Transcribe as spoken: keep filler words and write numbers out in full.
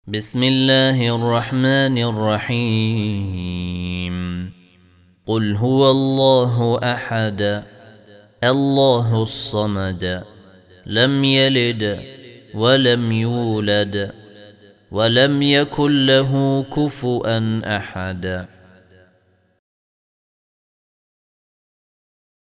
بسم الله الرحمن الرحيم قل هو الله أحد الله الصمد لم يلد ولم يولد ولم يكن له كفؤا أحد